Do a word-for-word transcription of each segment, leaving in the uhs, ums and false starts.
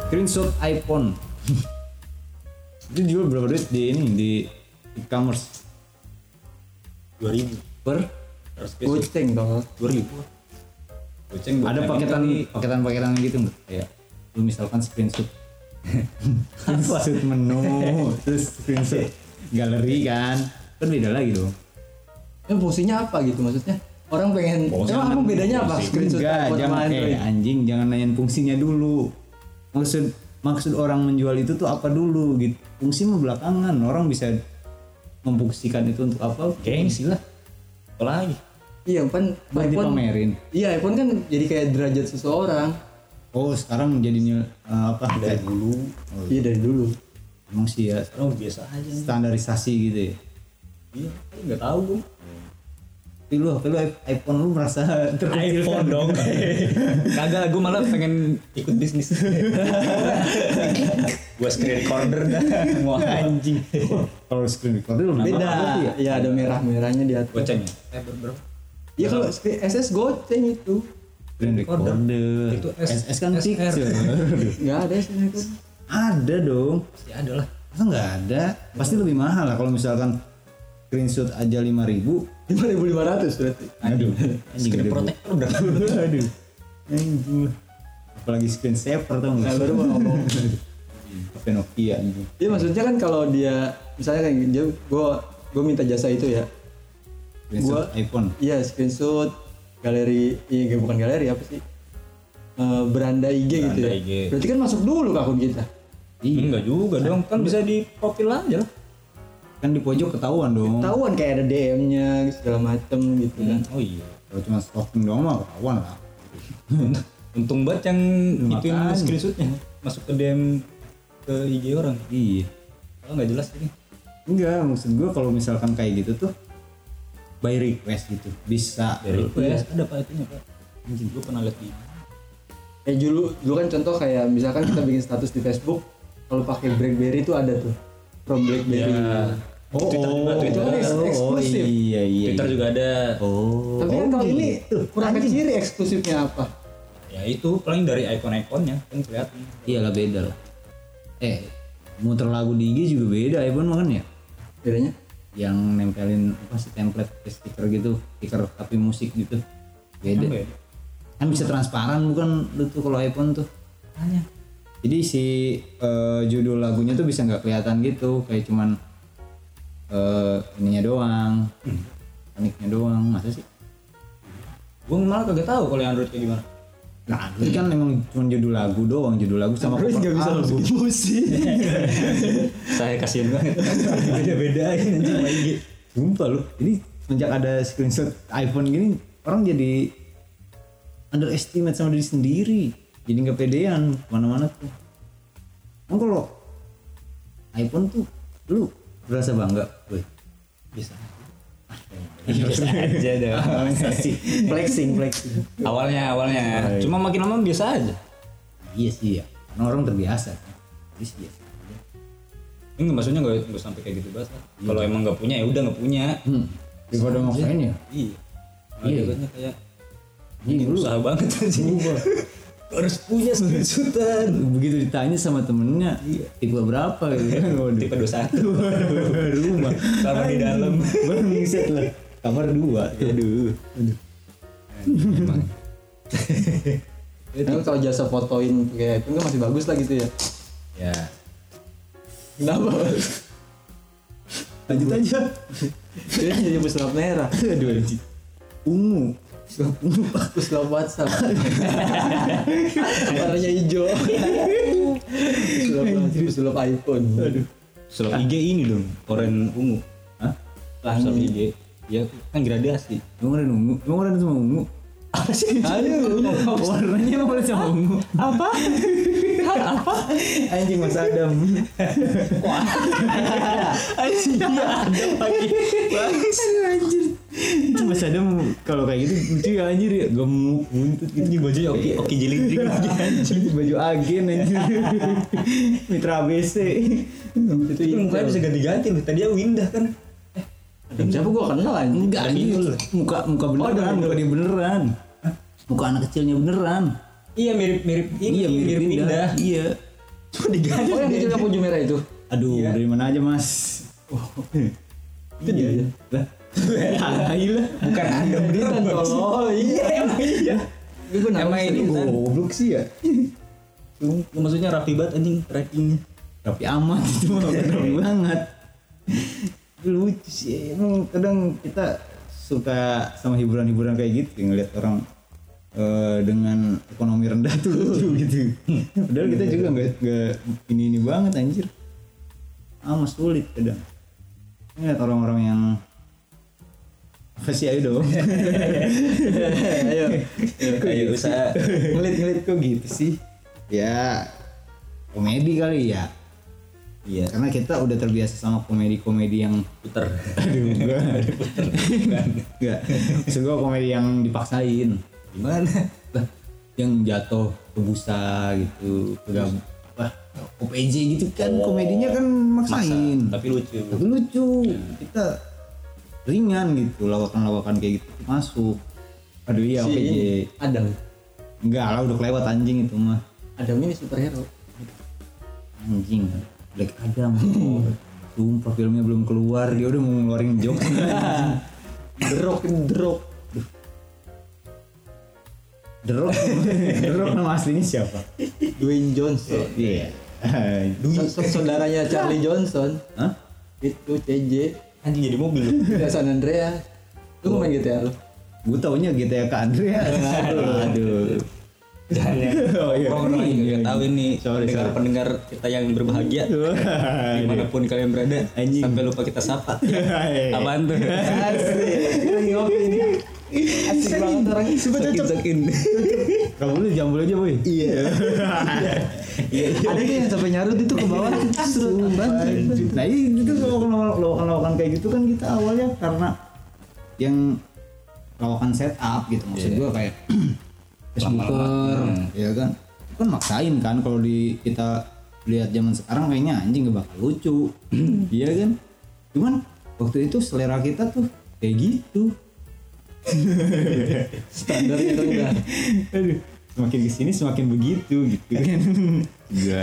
Screenshot iPhone. Itu jual berapa duit di ini di e-commerce? dua ribu Per Goceng dong. dua ribu Goceng ada paketan paketan-paketan gitu enggak? Kayak lu misalkan screenshot screenshot menu terus screenshot galeri kan kan beda lagi dong. Ya fungsinya apa gitu maksudnya? Orang pengen Oh, emang apa bedanya apa? Screenshot Enggak, iPhone sama jangan Android. kayak anjing, jangan nanyain fungsinya dulu. Maksud maksud orang menjual itu tuh apa dulu gitu. Fungsi mah belakangan, orang bisa memfungsikan itu untuk apa? gengsi lah apalagi. Iya kan Buat iPhone. dipamerin. Iya iPhone kan jadi kayak derajat seseorang. Oh sekarang jadinya uh, apa? Dari Kayak- dulu Oh, Iya dari dulu. emang sih ya sekarang biasa aja. standarisasi gitu ya. Iya nggak tahu gue. Tapi lu, tapi lu iPhone lu merasa terkecilkan iPhone dong. Kagak, gue malah pengen ikut bisnis. Gue screen recorder dah. Mau anjing. Kalau screen recorder lu nambah Beda. apa tuh ya? Iya ada merah-merahnya di atas. Goceng ya? Eh berapa? Iya kalau screen- S S goceng itu. Screen recorder. Itu S- S S kan S R. picture. Enggak ada S S itu. Ada dong. Pasti ada lah. Masa nggak ada? Pasti lebih mahal lah kalau misalkan screenshot aja lima ribu. lima ribu lima ratus berarti. Aduh, Screen protector udah. Aduh. Anjing. Apalagi screen saver tau Nah nggak? baru mau ngomong. H P Nokia anjing. Iya maksudnya kan kalau dia misalnya kayak dia gue gue minta jasa itu ya. Screenshot Gua- iPhone. Iya screenshot galeri, iya bukan galeri apa sih? Eh, beranda I G gitu Beranda ya. I G. Berarti kan masuk dulu ke akun kita. Iya. Enggak juga dong, kan bisa di profil aja lah. Kan di pojok ketahuan dong. Ketahuan kayak ada D M-nya segala macem gitu kan. Oh iya. Kalau cuma stalking doang mah ketahuan lah. Untung banget yang ituin Makanya. screenshotnya masuk ke D M ke I G orang. Iya. Kalau nggak jelas ini. Enggak, maksud gua kalau misalkan kayak gitu tuh by request gitu bisa. Dari request ada pak itunya pak. Anjing gue pernah lihat di. Eh dulu dulu kan contoh kayak misalkan kita bikin status di Facebook, kalau pakai BlackBerry itu ada tuh from BlackBerry. Ya. Oh, Twitter juga, oh, Twitter kan eks- oh, eksklusif. iya iya. Twitter iya. juga ada. Oh. Tapi kan oh, kalau ini gitu. kurang kecil eksklusifnya apa? Ya itu paling dari icon-iconnya kan kelihatan. Iyalah beda lah. Eh, muter lagu di I G juga beda iPhone mah kan ya. Bedanya? Yang nempelin apa sih template kayak stiker gitu, stiker tapi musik gitu. Beda. Apa ya? Kan bisa transparan bukan lu tuh kalau iPhone tuh. Tanya. Jadi si eh, judul lagunya tuh bisa nggak kelihatan gitu, kayak cuman eh, ininya doang, paniknya doang, masa sih? Gue malah kagak tahu kalau yang Android kayak gimana. Nah, itu kan emang cuma judul lagu doang, judul lagu sama Android nggak bisa album. masukin musik. Saya kasihan banget. Beda-bedain anjing sama I G. Sumpah lu, ini sejak ada screenshot iPhone gini, orang jadi underestimate sama diri sendiri, jadi nggak pedean mana-mana tuh. Kan kalau iPhone tuh, lu berasa bangga, weh. Bisa. Biasa aja dong. flexing, flexing. Awalnya awalnya. Cuma makin lama biasa aja. Iya sih ya, karena orang terbiasa. Jadi sih biasa. Enggak maksudnya nggak nggak sampai kayak gitu banget lah. Kalau emang nggak punya ya udah nggak punya. Hmm. Daripada maksain ya. Iya. Iya. Iya. Kayak Iya, ini lu usaha banget aja. Harus punya screenshotan. begitu ditanya sama temennya, tipe berapa gitu kan? Waduh. Tipe dua puluh satu. Rumah. Kamar di dalam. Baru ngingset lah. Kamar dua. Aduh. Aduh. Emang. Kan kalau jasa fotoin kayak itu kan masih bagus lah gitu ya. Ya. Kenapa? Lanjut aja. Dia jadi pesulap merah. Aduh anjing. Ungu. Pesulap WhatsApp. Warnanya hijau. Pesulap pesulap iPhone. Aduh. Sulap I G ini dong, oranye ungu. Hah? Sulap I G. Ya kan gradasi. Emang ada ungu? Emang ada sama ungu? Apa sih? Aduh. Warnanya emang ada sama ungu? Apa? Apa? Anjing Mas Adam. Anjing ada lagi. Aduh anjir. Itu Mas Adam kalau kayak gitu lucu ya anjir ya. Gemuk, buntut gitu. Ini bajunya oke oke jelindring lagi anjing. Baju agen anjir. Mitra A B C. Itu mukanya bisa ganti-ganti loh. Tadi aku Windah kan. Dan siapa gua kenal anjing? Enggak anjir. Muka muka beneran, muka dia beneran. Muka anak kecilnya beneran. Iya mirip-mirip ini, Iya mirip Windah. Windah. Iya. Cuma diganti. Oh yang kecil yang baju merah itu. Aduh, Iya. dari mana aja mas? Itu dia. Lah, gila. Bukan ada berita Oh iya emang iya. Gue Emang ini kan. Goblok sih ya. Maksudnya rapi banget anjing trackingnya. Rapi amat itu mah rapi banget. Lucu sih. Emang kadang kita suka sama hiburan-hiburan kayak gitu, ngeliat orang eh, dengan ekonomi rendah tuh lucu gitu. Padahal kita juga nggak nggak ini ini banget anjir. Amat sulit kadang. Ngeliat orang-orang yang apa sih ayo dong. Ayo. Ayo usaha. Ngelit-ngelit kok gitu sih. Ya komedi kali ya. Iya. Karena kita udah terbiasa sama komedi-komedi yang Puter. aduh enggak. Enggak. Maksud gua komedi yang dipaksain. Gimana? Lah, yang jatuh ke busa gitu, ke gab- apa O P J gitu kan, Oh. komedinya kan maksain. Masa, tapi lucu. Tapi lucu. Kita ringan gitu, lawakan-lawakan kayak gitu masuk. Aduh iya O P J. Adam. Enggak lah udah kelewat anjing itu mah. Adam ini superhero. Anjing. Black Adam. Sumpah filmnya belum keluar dia udah mau ngeluarin joke. The Rock, The Rock. The Rock. The Rock nama aslinya siapa? Dwayne Johnson. Iya. So- so- saudaranya Charlie Johnson. Hah? Itu C J. Anjing jadi mobil lu. Di San Andreas. Lu mau main G T A lu? Gue taunya G T A ke Andreas. Aduh. Aduh. Jangan. Oh, iya. Orang orang Iya, yang tahu ini Sorry, pendengar sorry. pendengar kita yang berbahagia dimanapun kalian berada Anjing. sampai lupa kita sapa. Apaan tuh? Asik. Lagi ngopi ini. Asik banget orang. Sakin sakin. Kamu lu jambul aja boy. Iya. Ada yang sampai nyarut itu ke bawah serut banget. Nah itu lawakan-lawakan kayak gitu kan kita awalnya karena yang lawakan setup gitu maksud gua kayak Facebooker ya kan itu kan maksain kan kalau di kita lihat zaman sekarang kayaknya anjing gak bakal lucu. Iya kan cuman waktu itu selera kita tuh kayak gitu. Standarnya kan udah. Aduh, semakin kesini semakin begitu gitu kan. Enggak.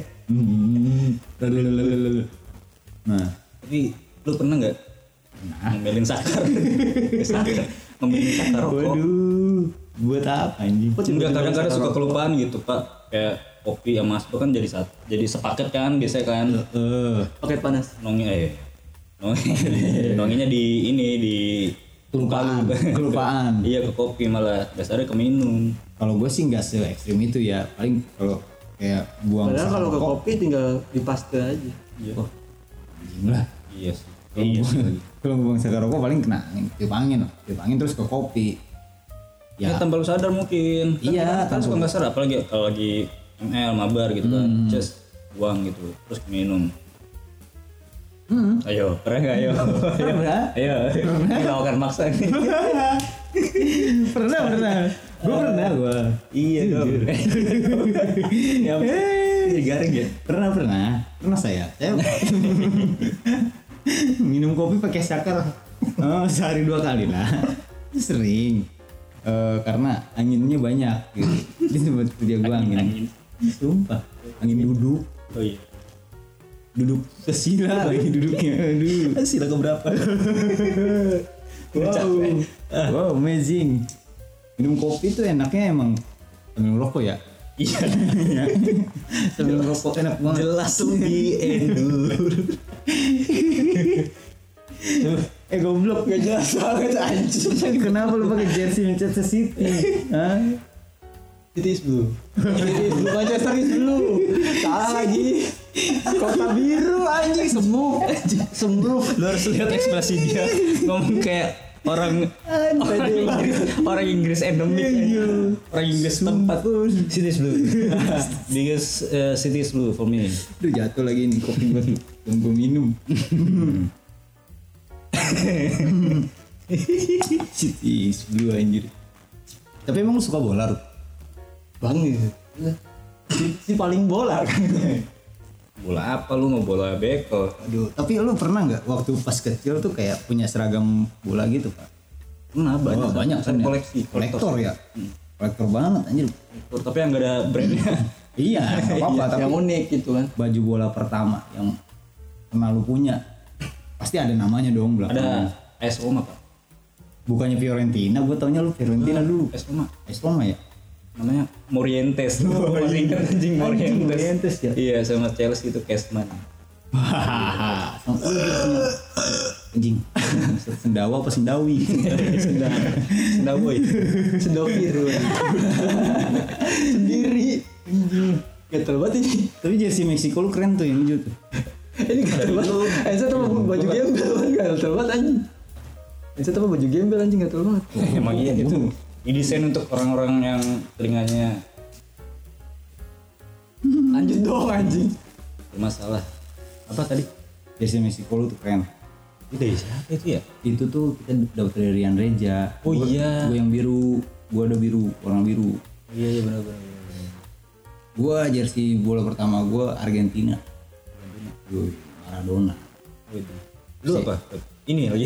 Lalu Nah, Tapi lu pernah nggak ngomelin sakar? Sakar. Ngomelin sakar rokok. waduh, buat apa anjing? Enggak, kadang-kadang suka kelupaan gitu pak. Kayak kopi sama aspo kan jadi satu, jadi sepaket kan biasanya kan. Eh, Paket panas. Nongi eh. Nongi. Nonginya di ini di kelupaan, kelupaan. Iya ke kopi malah dasarnya ke minum. Kalau gue sih nggak se ekstrim itu ya, paling kalau kayak buang Padahal sisa kalau ke rokok, kopi tinggal dipaste aja. Iya. oh, anjing lah. Iya sih. Kalau Iya buang, sih. kalau buang sisa rokok paling kena angin, tiup angin, tiup angin terus ke kopi. Ya, Ya, tanpa lu sadar mungkin. Kan Iya, kan tanpa- suka nggak sadar apalagi kalau lagi M L mabar gitu kan. Just buang gitu terus minum. hmm. Ayo, pernah nggak ayo? Pernah? Ayo, ini lawakan maksa nih. pernah, pernah. Gue pernah gue. Iya dong. Ya, ini garing ya. Pernah, pernah, pernah saya. Saya minum kopi pakai sakar oh, sehari dua kali lah. Sering. Eh, karena anginnya banyak gitu. Dia sempat kerja gue angin. Angin. Sumpah, angin duduk. Oh iya. Duduk sesila lagi duduknya. Aduh. Sila ke berapa? Wow. Wow, amazing. Minum kopi tuh enaknya emang sambil ngerokok ya. Iya. Sambil ngerokok enak banget. Jelas lebih endur. Eh goblok gak jelas banget anjing. Kenapa lu pakai jersey Manchester City? Hah? Titis blue. Titis blue Manchester is blue. Salah lagi. Kota biru anjing semu. Sembuh. Lu harus lihat ekspresi dia ngomong kayak orang orang Inggris, orang Inggris endemik. Orang Inggris tempat Cities blue. Because uh, Cities blue for me. Aduh jatuh lagi nih kopi buat yang gue minum. City is blue anjir. Tapi emang lu suka bola? Rup? Banget. Si, si paling bola kan. Bola apa lu mau bola beko? Aduh, tapi lu pernah nggak waktu pas kecil tuh kayak punya seragam bola gitu, Pak? Pernah banyak. Oh, banyak kan ya? koleksi. Kolektor ya? Kolektor banget anjir. Tapi yang gak ada brandnya. Iya, nggak apa-apa. Tapi yang unik gitu kan. baju bola pertama yang pernah lu punya pasti ada namanya dong belakang. Ada A S Roma Pak. Bukannya Fiorentina, gue taunya lu Fiorentina dulu. A S Roma. A S Roma ya? Namanya Morientes. Oh, masih ingat anjing Morientes. Morientes ya? Iya, sama Chelsea itu Cashman. Hahaha. Sama lu dia punya anjing. Sendawa apa sendawi? Sendawa. Sendawa. Sendokir. Sendiri. Gatel banget ini. Tapi jersey Meksiko lu keren tuh yang hijau tuh. Ini gatel banget. Ensa tuh baju gembel gatel banget anjing. Ensa tuh baju gembel anjing gatel banget. Emang iya gitu. Didesain untuk orang-orang yang telinganya Lanjut dong anjing. bermasalah. Apa tadi? Jersey Meksiko lu tuh keren. Itu dari siapa itu ya? Itu tuh kita dapat dari Rian Reja. Oh iya. Gue yang biru, gue ada biru, warna biru. Iya iya benar-benar. Gue jersey bola pertama gue Argentina. Gue Maradona. Lu apa? Ini lagi.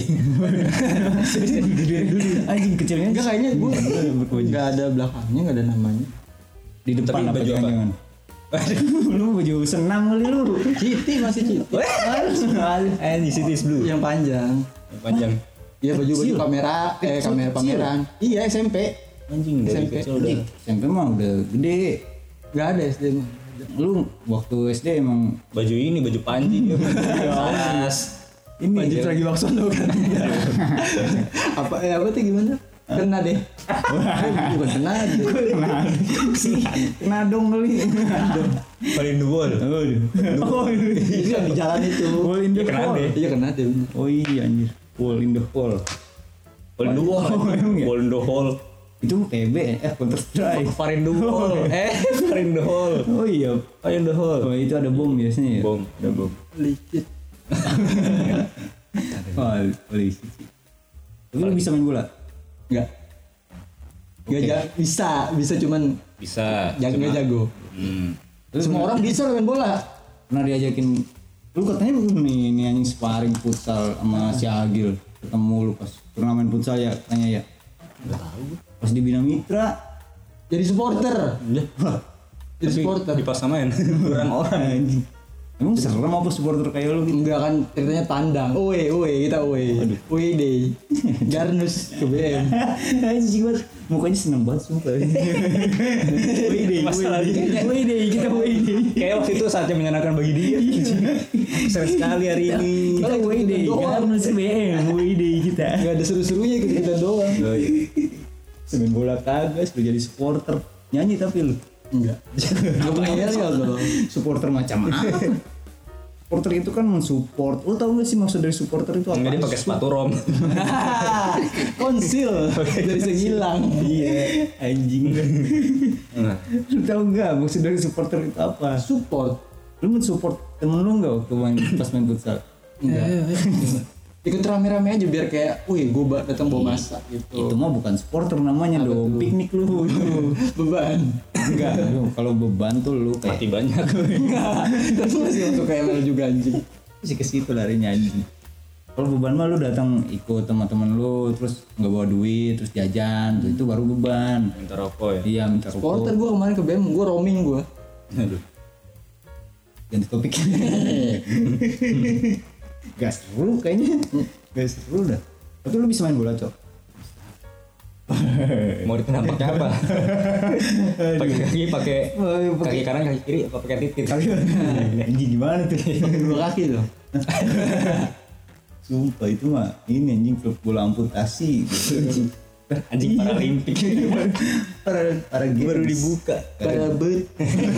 Anjing kecilnya. Enggak kayaknya gue enggak ada belakangnya, enggak ada namanya. Di depan Tapi apa baju apa? jangan-jangan? Lu baju senam kali lu. Citi masih Citi. Eh, di City Blue. Yang panjang. Yang panjang. Iya baju-baju Kecil. kamera, eh Kecil, kamera kecil. pameran. Iya S M P. Anjing dari S M P. kecil udah. S M P mah udah gede. Enggak ada S D mah. Lu waktu S D emang Baju ini baju panji. Saras. ini Wajib ya. lagi Waksono kan. Apa eh apa tuh gimana? Kena deh. Bukan kena deh. Kena. Kena dong kali. Paling the wall. Oh, Itu yang di jalan itu. Wall in the Kena hall. deh. Iya kena deh. bener. Oh iya anjir. Wall in the hall. Paling the wall. Oh, emang ya? Paling the hall. Itu P B eh Counter Strike. Paling the wall. Eh, paling the hall. Oh iya. Paling the hall. Oh itu ada bom biasanya ya. Bom, ada bom. Licit. Oh, polisi. Tapi lu bisa main bola? Enggak. Enggak Oke. ja- bisa, bisa cuman Bisa. jago cuma- jago. Hmm. Semua orang bisa main bola. Pernah diajakin lu katanya lu nih ini anjing sparring futsal sama si Agil ketemu lu pas turnamen futsal ya katanya ya. Enggak tahu. Pas di Bina Mitra. Jadi supporter. Wah, Jadi Tapi supporter. dipaksain kurang orang. anjing. Emang serem apa supporter kayak lu gitu? Enggak kan ceritanya tandang. Uwe, uwe, kita uwe. Uwe deh. Garnus ke B M. Anjing banget. Mukanya seneng banget sumpah. Woi deh, Masalahnya- woi deh, kita woi deh. Kayak waktu itu saatnya menyenangkan bagi dia. Sering sekali hari ini. Kita woi deh, Doang. karena B M, woi deh kita. Enggak ada seru-serunya gitu kita doang. Semen bola kagak, lu jadi supporter. Nyanyi tapi lu. Enggak. Enggak punya yel dong. Supporter macam apa? Supporter itu kan mensupport. Lu tahu gak sih maksud dari supporter itu apa? Enggak dia pakai sepatu rom. Konsil dari segilang. Iya, anjing. Nah, Lu tahu gak maksud dari supporter itu apa? Support. Lu mensupport temen lu gak waktu main pas main futsal? Enggak. Ikut rame-rame aja biar kayak, wih gue datang bawa masak gitu. Itu mah bukan supporter namanya Apa dong, tuh? piknik lu. Beban. Enggak, lu kalau beban tuh lu kayak mati banyak. Tapi masih masuk K M L juga anjing. sih ke situ larinya anjing. Kalau beban mah lu datang ikut teman-teman lu terus nggak bawa duit terus jajan tuh itu baru beban. Minta rokok ya. Iya minta Supporter rokok. gue kemarin ke B M, gue roaming gue. Aduh. Ganti topik. Gak seru kayaknya. Gak seru dah. Tapi lu bisa main bola cok. Mau penampaknya apa? Pakai kaki, pakai kaki kanan, kaki kiri, apa pakai titit? Anjing gimana tuh? Pakai dua kaki loh. Sumpah itu mah ini anjing klub bola amputasi. Gitu. Anjing paralimpik. para para games. Baru dibuka. Parabut.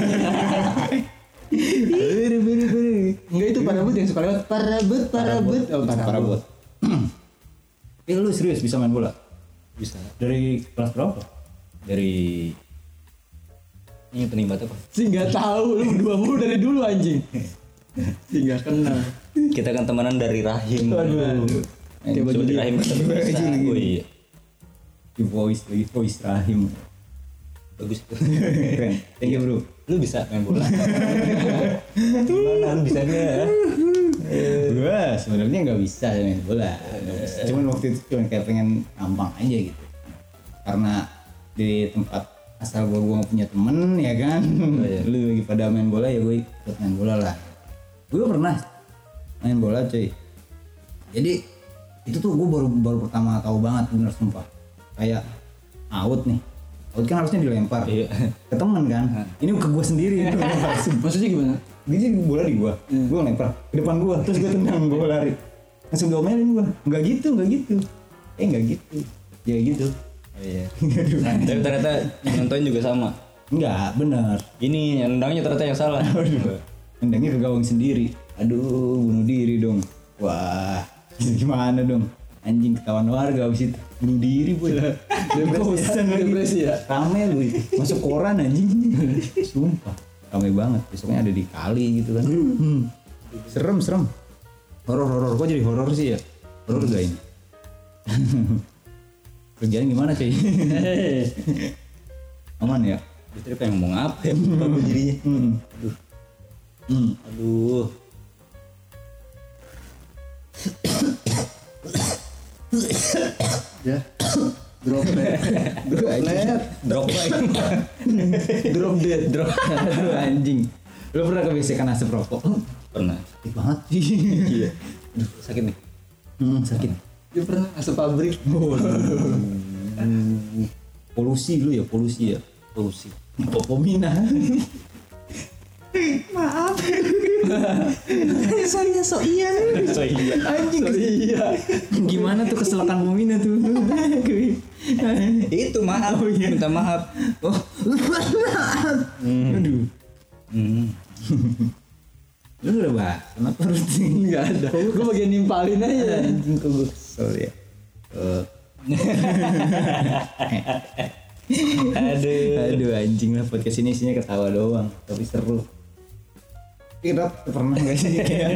Beri beri beri. Enggak itu parabut yang suka lewat. Parabut, parabut. Oh, Parabot. Eh lu serius bisa main bola? Bisa. Dari kelas berapa? Dari ini pening banget apa? Sih nggak tahu lu berdua mulu dari dulu anjing. Sih nggak kenal. Kita kan temenan dari rahim. Aduh. Kayak baju Coba di dia. rahim kita bisa. Oh iya. Di voice lagi voice rahim. Bagus tuh. Keren. Thank you bro. Lu bisa main bola. Gimana lu bisanya? Gua sebenarnya nggak bisa main bola. Nggak bisa. Cuman waktu itu cuma kayak pengen ngambang aja gitu. Karena di tempat asal gua gua nggak punya temen ya kan. Oh, iya. Lu lagi pada main bola ya gue ikut main bola lah. Gue pernah main bola cuy. Jadi itu tuh gue baru baru pertama tahu banget bener sumpah. Kayak out nih. Out kan harusnya dilempar Iya. ke temen kan. Ini ke gue sendiri. Maksudnya gimana? Dia jadi bola di gua, hmm. gua lempar ke depan gua, terus gua tendang, gua lari. Langsung diomelin gua. Enggak gitu, enggak gitu. Eh enggak gitu. Ya gitu. Oh, iya. Nah, tapi ternyata nonton juga sama. Enggak, benar. Ini yang nendangnya ternyata yang salah. Tendangnya ke gawang sendiri. Aduh, bunuh diri dong. Wah, gimana dong? Anjing ketahuan warga abis itu bunuh diri boy. Depresi ya, depresi ya. Rame lu itu. Masuk koran anjing. Sumpah. Ramai banget, besoknya ada di kali gitu kan. Hmm. Serem, serem. Horor-horor, kok jadi horor sih ya? Horor gak ini? Kerjaan gimana cuy? Aman ya? Istri pengen ngomong apa ya? Bagus dirinya. Hmm. Aduh. Hmm. Aduh. Ya. Droplet. Droplet. Drop lagi. Drop dead. Drop. Aduh anjing. Lu pernah kebiasaan asap rokok? Pernah. Sakit banget. Iya. Aduh, sakit nih. Hmm, sakit. Dia pernah asap pabrik. Polusi lu ya, polusi ya. Polusi. Popomina. Maaf. Sorry so iya. So iya. Anjing. So iya. Gimana tuh keselakan Pomina tuh? Itu maaf. Oh, iya. Minta maaf. Oh. Hmm. Aduh. Hmm. Lu udah bahas? Kenapa harus Enggak ada. Gue bagian nimpalin aja. anjing kok gue kesel ya. Uh. Aduh. Aduh anjing lah podcast ini isinya ketawa doang tapi seru. Kira pernah gak sih kayak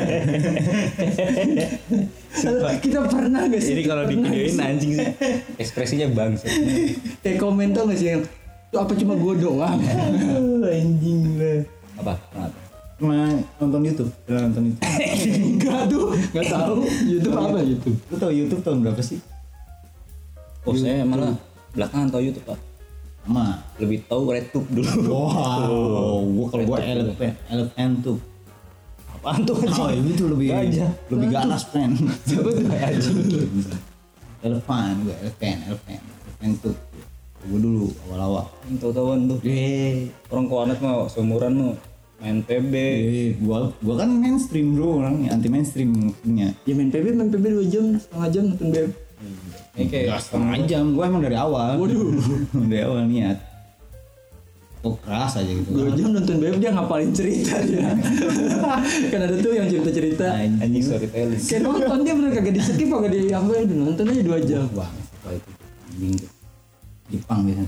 Kita pernah gak sih? Jadi kalau di videoin anjing sih ekspresinya bangsa. Kayak komen tau gak sih yang itu apa cuma gue doang? anjing lah. Apa? Kenapa? Pernah nonton YouTube? Pernah nonton YouTube? Enggak tuh, enggak tahu. YouTube apa YouTube? Lu tau YouTube tahun berapa sih? Oh, saya malah belakangan tahu YouTube, Pak. Ma. Lebih tahu RedTube dulu. Wow, gua kalau gua elephant, elephant tuh. Apaan tuh? Oh, ini tuh lebih Gajah. lebih ganas pen. Siapa tuh? Elephant, gua elephant, elephant, elephant tuh. Gua dulu awal-awal. Yang tahu-tahuan tuh. Eh, Orang ke warnet mah seumuran mah main P B. eh, gua gua kan mainstream bro, orang anti mainstream maksudnya. Ya main P B, main P B dua jam, setengah jam nonton B M. Ini kayak Gak setengah jam, gua emang dari awal. Waduh. dari awal niat. Oh keras aja gitu. Dua jam nonton B M dia ngapalin cerita dia. Kan ada tuh yang cerita-cerita. anjing storytelling. Kayak nonton dia bener kagak di skip kagak di apa ya nonton aja dua jam. Bang, setelah itu anjing tuh. Jepang biasanya.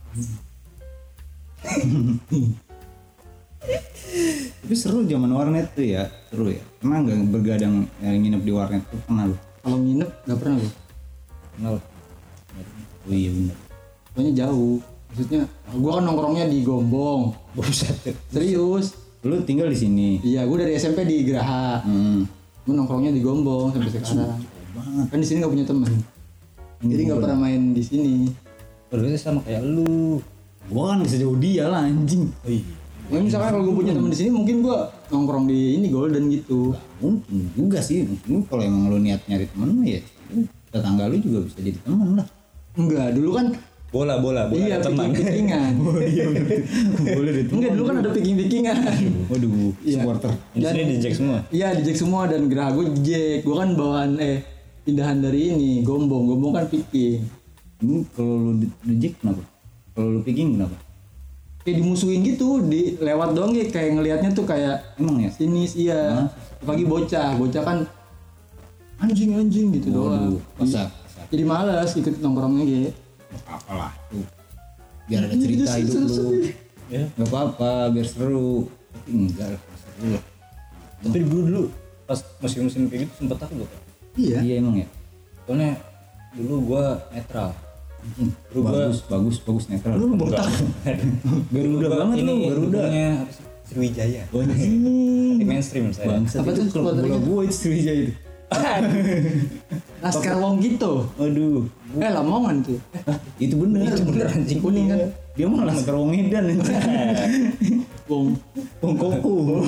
Tapi seru zaman warnet tuh ya, seru ya. Pernah nggak bergadang yang nginep di warnet tuh pernah lu? Kalau nginep nggak pernah gue. Kenal. Oh iya benar. Pokoknya jauh. Maksudnya gue kan nongkrongnya di Gombong. Buset. Serius. Lu tinggal di sini. Iya, gue dari S M P di Geraha. Hmm. Gue nongkrongnya di Gombong sampai sekarang. Banget. Kan di sini nggak punya teman. Jadi nggak pernah main di sini. Berarti sama kayak lu. Gua kan bisa jauh dia lah anjing. Oh iya. Ya, misalkan kalau gue punya teman di sini mungkin gue nongkrong di ini Golden gitu. Mungkin juga sih. Mungkin kalau emang lu niat nyari temen mah ya tetangga lu juga bisa jadi teman lah. Enggak, dulu kan Bola, bola, bola. iya teman. picking-pickingan. Boleh deh. Enggak, dulu kan ada picking-pickingan. Waduh, Iya. supporter. Di sini di Jack semua. Iya di Jack semua dan Geraha gue di Jack. Gue kan bawaan eh pindahan dari ini Gombong. Gombong kan picking. Ini kalau lu di, di Jack kenapa? Kalau lu picking kenapa? Kayak dimusuhin gitu, di lewat doang ya kayak ngelihatnya tuh kayak Emang ya? sinis iya. Hah? Apalagi bocah, bocah kan anjing-anjing gitu doang. Waduh, masak. Jadi malas ikut nongkrongnya gitu. Apalah tuh. Biar ada cerita hidup lu. Ya. Gak apa-apa, biar seru. Tapi enggak lah, seru lah. Tapi dulu dulu pas musim-musim kayak gitu sempet takut gua, Pak. Iya. Iya emang ya. Soalnya dulu gua netral. Anjing, Lu gua- bagus, bagus, bagus netral. Lu botak. Garuda banget lu, Garuda. Garuda. Apa sih? Sriwijaya. Anjing. Di mainstream saya. Bangsat Apa itu tuh klub bola supporternya? gua itu Sriwijaya itu. Laskar Wong gitu. Aduh. Eh Lamongan tuh. Itu bener. Itu bener anjing. Kuning kan. Dia mah Laskar Wong Medan. Wong Wong Koku.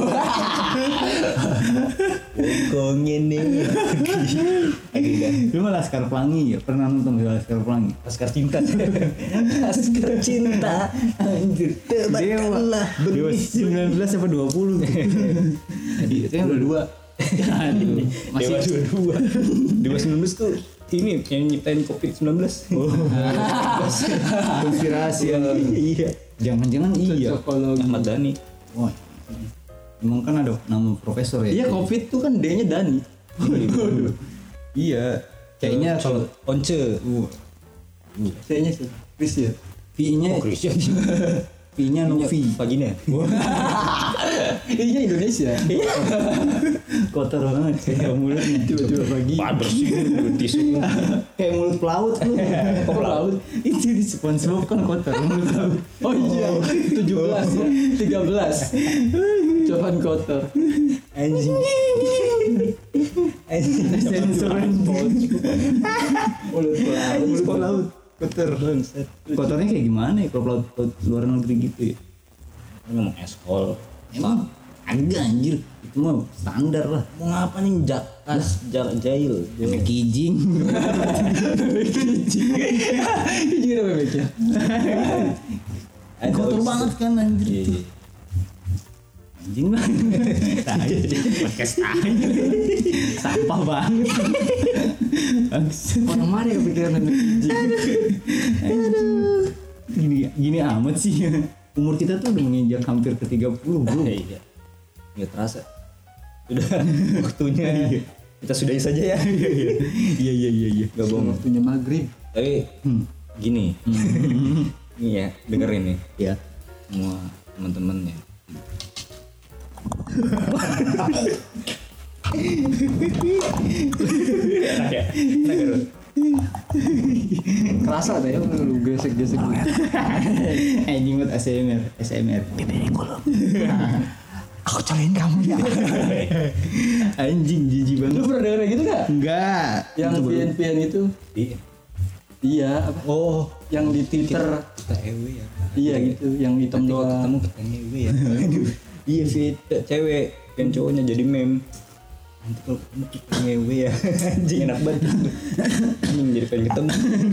Kong ini. Dia mah Laskar Pelangi ya. Pernah nonton Laskar Pelangi? Laskar cinta. Laskar cinta. Anjir. Dewa. Dewa sembilan belas sampai dua puluh. itu yang berdua. Aduh. Masih dua-dua. Dewa sembilan belas tuh ini yang nyiptain covid sembilan belas. Oh. Konspirasi. Iya. Jangan-jangan iya. Psikologi. Ahmad Dhani. Wah. Emang kan ada nama profesor ya? Iya Covid tuh kan D-nya Dani. Iya. Kayaknya kalau Once. C-nya sih. Chris ya. V-nya Oh, Christian. V-nya Novi. Vagina. Ini Indonesia. Kotor banget kayak mulutnya. Coba-coba pagi. Pak bersih tisu. Kayak mulut pelaut tuh. Oh, pelaut. Itu di SpongeBob kan kotor mulut pelaut. Oh iya, tujuh belas ya, tiga belas. Cobaan kotor. Anjing. Anjing. Sensor Mulut pelaut. mulut pelaut. Kotor. Kotornya kayak gimana ya kalau pelaut, pelaut luar negeri gitu ya? Ngomong eskol. Emang agak anjir. Itu mah standar lah. Mau ngapa nih jakas jalan jail. Kayak kijing. Ini udah bebeknya. Kotor banget kan anjir. Iya, iya. Anjing lah. Podcast aja. Sampah banget. Bangsat. Orang mana yang kepikiran anjing? Aduh. Gini gini amat sih. Umur kita tuh udah menginjak hampir ke tiga puluh, Bro. Iya. Nggak terasa. Sudah waktunya. Kita sudahi saja ya. Iya iya iya iya. Gak bohong. Waktunya maghrib. Tapi gini. Nih ya, dengerin nih. Ya. Semua teman-teman ya. Enak ya? Enak ya, Rod? Kerasa deh ya lu gesek-gesek. Anjing buat A S M R, A S M R. Aku cariin kamu ya. Anjing jijik banget. Lu pernah denger gitu gak? Enggak. Yang Itu baru- pian-pian itu? Iya. Iya, apa? Oh, Yang di Twitter. kita E W ya. Iya gitu, yang hitam Nanti kalau doang. ketemu kita E W ya. Iya sih. Cewek kan cowoknya jadi meme. Nanti kalau ketemu kita E W ya. Anjing enak banget. Anjing jadi pengen ketemu.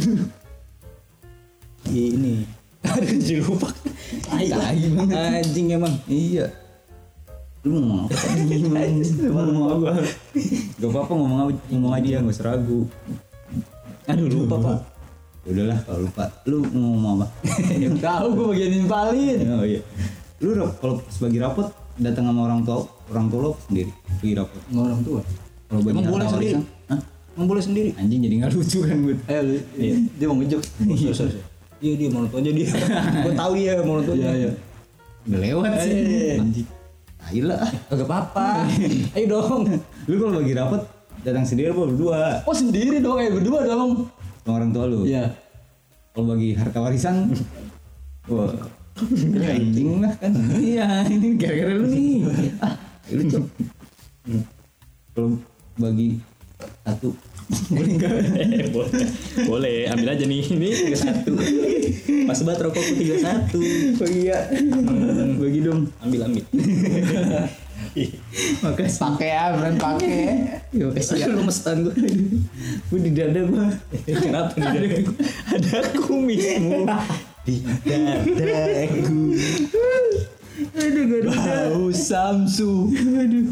Iya ini. Aduh jadi lupa. Tai banget. Anjing emang. Iya. Lu mau ngomong apa? Lu mau ngomong apa? Gak apa-apa ngomong apa, ngomong aja nggak usah ragu. Aduh lupa pak. Ya udahlah kalau lupa. Lu mau ngomong apa? Yang tahu gue bagian nimpalin. Oh iya. Lu rap- kalau sebagi rapot datang sama orang tua, orang tua lo sendiri pergi rapot. Sama orang tua. Kalau bagi Emang harta boleh sendiri? warisan, hah? Emang boleh sendiri? Anjing jadi nggak lucu kan gue. Eh, lu, dia mau ngejok. Iya, iya dia mau nonton aja dia. Gue tahu dia mau nonton. Iya, iya. Udah lewat sih. Eh. Anjing. Tai lah. Agak apa-apa. Ayo dong. Lu kalau bagi rapot datang sendiri apa berdua? Oh sendiri dong, eh berdua dong. Sama orang tua lu. Iya. Kalau bagi harta warisan, wah, ini anjing lah kan. Iya, ini gara-gara lu nih. Ah, lu cok. Kalau bagi satu, boleh enggak? Eh, boleh. Boleh, ambil aja nih. Ini tiga satu. Pas banget rokokku tiga satu. Oh iya, bagi dong. Ambil ambil. Makasih. Pakai ya, brand pakai. Yo, kasih ya. Lu mestan gue. Gue di dada gua. Kenapa nih ada, ada kumismu di dadaku. Aduh, gak ada. Bau Samsu. Aduh.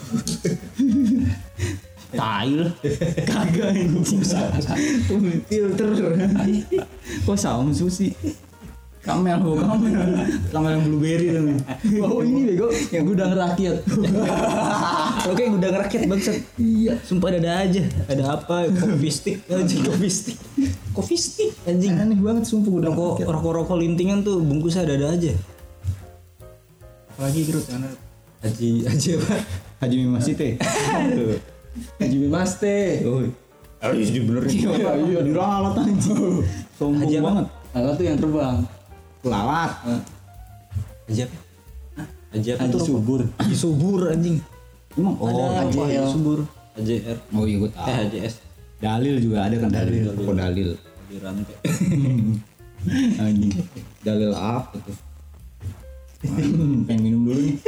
Tai lah. Kagak anjing. Filter. Kok Samsu sih? Kamel, oh kamel. Kamel yang blueberry tuh. Oh ini bego, yang gudang rakyat. Oke gudang rakyat bangsat. Iya. Sumpah ada aja. Ada apa? Coffee stick anjing coffee stick. Coffee stick anjing. Aneh banget sumpah gudang Rokok rakyat. rokok-rokok lintingan tuh bungkusnya ada-ada aja. Apalagi Grut karena Haji Haji apa? Haji Mimasite. Aduh. Haji Mimaste. Oh. Harus dibenerin. Iya, Diralat anjing. Sombong Haji apa? banget. Alat tuh yang terbang. Lalat. Haji apa? Hah? Haji apa Haji tuh? subur. Haji subur anjing. Emang oh Ada Haji apa? Haji subur. H J R. Oh iya gue tahu. Eh H J S. Dalil juga ada kan dalil. Toko dalil. Di rantai. Anjing. Dalil apa tuh? Pengen minum dulu nih.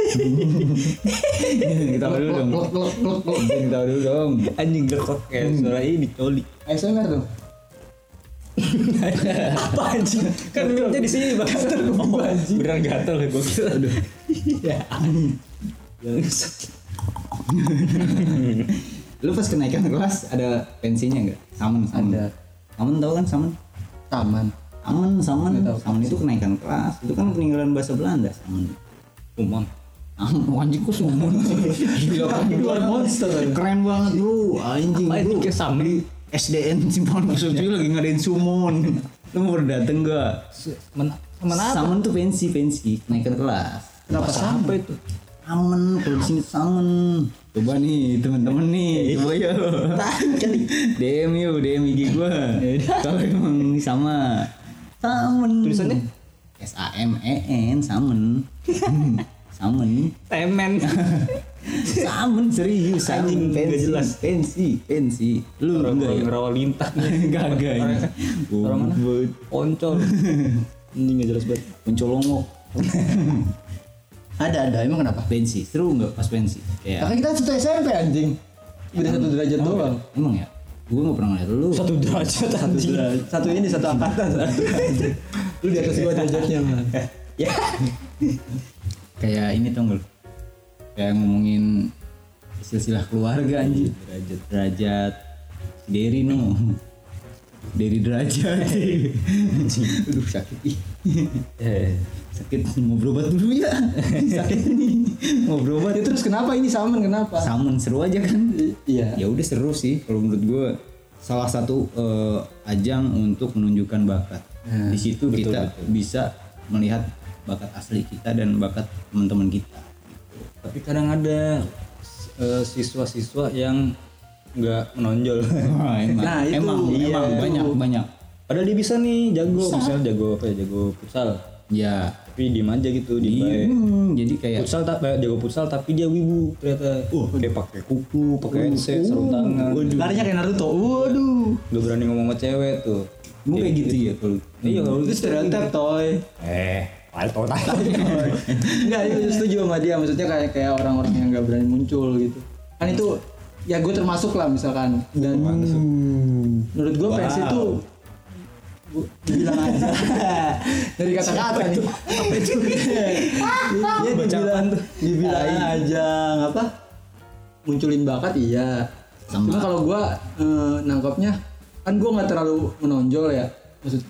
Kita dulu dong. Glok glok glok glok. Kita dulu dong. Anjing gerkok kayak suara ini coli. A S M R dong. Apa anjing? Kan minumnya di sini Bang. Oh, beneran gatel ya gua kira. Aduh. Ya. Lu pas kenaikan kelas ada pensinya enggak? Samen samen. Ada. Samen tahu kan samen? Taman. Samen samen. Nggak tahu. Samen itu kenaikan kelas. Itu kan peninggalan bahasa Belanda samen. Umum. Ah, anjing kok summon sih? Gila kan Keluar monster. Keren banget bro, anjing Apa itu bro. kayak samen? Di S D N Simpan Kusut juga lagi ngadain summon. Lu mau dateng gak? Mana mana apa? Samen tuh pensi pensi kenaikan kelas. Kenapa sampai itu? Samen, kalau di sini samen. Coba nih teman-teman nih, coba yuk. D M yuk, D M I G gua. Kalau emang ini sama. Samen. Tulisannya S A M E N samen. Samen. temen. Samen serius Anjing, samen nggak pensi jelas. pensi pensi lu Orang enggak ya rawa lintah. enggak enggak Orang- orang mana? Goblok. Oncol. Ini enggak jelas banget. Mencolongok Ada ada emang kenapa? pensi seru enggak pas pensi ya Karena kita satu S M P anjing. Beda satu derajat doang. emang ya gua nggak pernah ngeliat lu Satu derajat anjing. Satu ini satu angkatan. Lu di atas gua derajatnya man. Ya. kayak ini tau nggak lu? Kayak ngomongin silsilah keluarga anjir Derajat. derajat Derry no Derry derajat aduh sakit ih Eh. sakit mau berobat dulu ya sakit nih mau berobat Ya, terus kenapa ini samen kenapa? samen seru aja kan Iya. ya udah seru sih kalau menurut gue salah satu eh, ajang untuk menunjukkan bakat Nah, di situ betul, kita betul. bisa melihat bakat asli kita dan bakat teman-teman kita. Tapi kadang ada eh, siswa-siswa yang nggak menonjol. Wah, emang, Nah, itu, emang, iya, emang itu. banyak banyak. Padahal dia bisa nih jago, misalnya jago apa ya, jago futsal. Ya, Tapi diem aja gitu, di, diem aja. hmm, jadi kayak Futsal tak eh, jago futsal tapi dia wibu ternyata. Uh, dia pakai kuku, pakai headset, sarung tangan. Larinya kayak Naruto. Waduh. Gak berani ngomong sama cewek tuh. gue kayak gitu ya kalau. Iya kalau Itu stereotip toy. Eh, alto tahu. Enggak, itu setuju sama dia. Maksudnya kayak kayak orang-orang yang nggak berani muncul gitu. Kan itu ya gue termasuk lah misalkan. Dan menurut gue fans Wow. itu bu- dibilang aja dari kata-kata nih. Apa itu? Iya dibilang dibilang aja apa? Munculin bakat iya. Sama. Cuma kalau gue eh, nangkapnya kan gue nggak terlalu menonjol ya. Maksud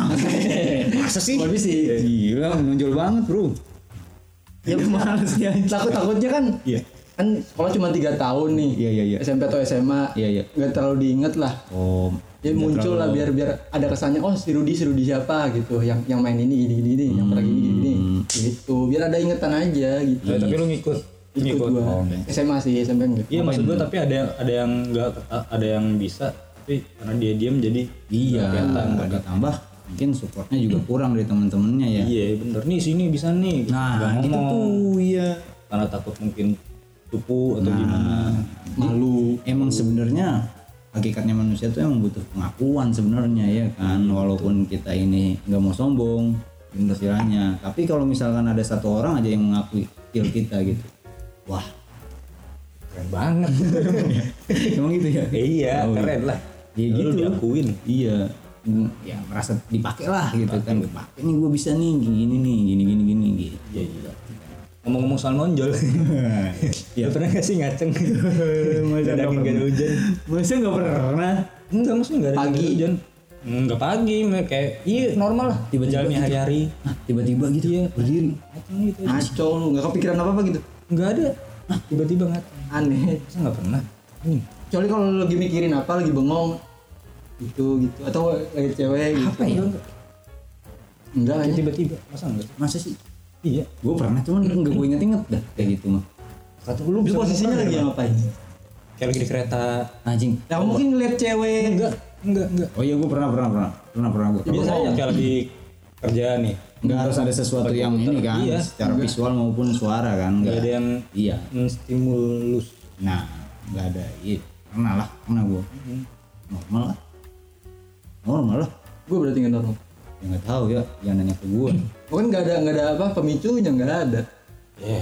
Masa sih? Gak bisa sih. Gila, menonjol banget bro. Ya males ya. Takut takutnya kan. Iya. Kan sekolah cuma tiga tahun nih. Iya, iya, iya. S M P atau S M A. Iya, iya. Nggak terlalu diinget lah. Oh, Ya muncul lah biar biar ada kesannya oh si Rudi si Rudi siapa gitu yang yang main ini gini gini, gini yang pernah gini gini, Hmm. gini gitu biar ada ingetan aja gitu. Eh, tapi lu ngikut. Lu Ikut ngikut. gua. Oh, enggak. S M A sih S M P enggak. Iya maksud gua tapi ada yang ada yang enggak ada yang bisa tapi karena dia diam jadi iya. nggak kelihatan bakat. Ditambah mungkin supportnya juga kurang dari teman-temannya ya. Iya bener nih sini bisa nih. Nah, Nggak gitu ngomong. tuh, iya. Karena takut mungkin cupu atau Nah, gimana. Malu. Emang sebenarnya hakikatnya manusia tuh emang butuh pengakuan sebenarnya ya kan, walaupun kita ini nggak mau sombong istilahnya, tapi kalau misalkan ada satu orang aja yang mengakui skill kita gitu, wah Keren banget. emang gitu ya? Iya Oh, keren lah. Iya Lu gitu. diakuin. Iya, Hmm, ya merasa dipakai lah gitu kan, dipakai nih gue bisa nih gini nih gini gini gini gitu. Iya iya. Ngomong-ngomong soal nonjol. Ya pernah gak sih ngaceng? Masa Daging nggak gak ada hujan. Masa nggak pernah? Enggak maksudnya gak ada Pagi. nggak ada hujan. Enggak pagi, me- kayak iya normal lah. Tiba-tiba Jalannya gitu. hari-hari. Hah, tiba-tiba gitu ya berdiri. Ngaceng gitu aja. Ngaco lu nggak kepikiran apa apa gitu. Enggak ada. Ah, tiba-tiba ngaceng. Aneh. Masa enggak pernah? Ini. Kecuali kalau lu lagi mikirin apa lagi bengong gitu gitu atau lagi cewek gitu. Apa ya? Enggak. Enggak Kayak kayaknya. tiba-tiba. Masa enggak? Masa sih? Iya. Gue pernah cuman nggak gue inget-inget dah kayak gitu mah. Kata lu Lu bisa posisinya ngomong lagi kan? ngapain? Kayak lagi di kereta. Anjing. Ya mungkin ngeliat cewek. Enggak, enggak, enggak. Oh iya gue pernah pernah pernah pernah pernah gue. Biasanya kayak lagi kerja nih. Nggak harus ada sesuatu Pakai yang komputer. ini kan, Iya. secara visual maupun suara kan. Enggak ada yang Iya. menstimulus. Nah nggak ada. Iya, pernah lah, pernah gua. Normal lah. Normal lah. Gua berarti nggak normal. Ya nggak tahu ya, jangan nanya ke gua. Bukan nggak ada nggak ada apa pemicunya nggak ada. Eh.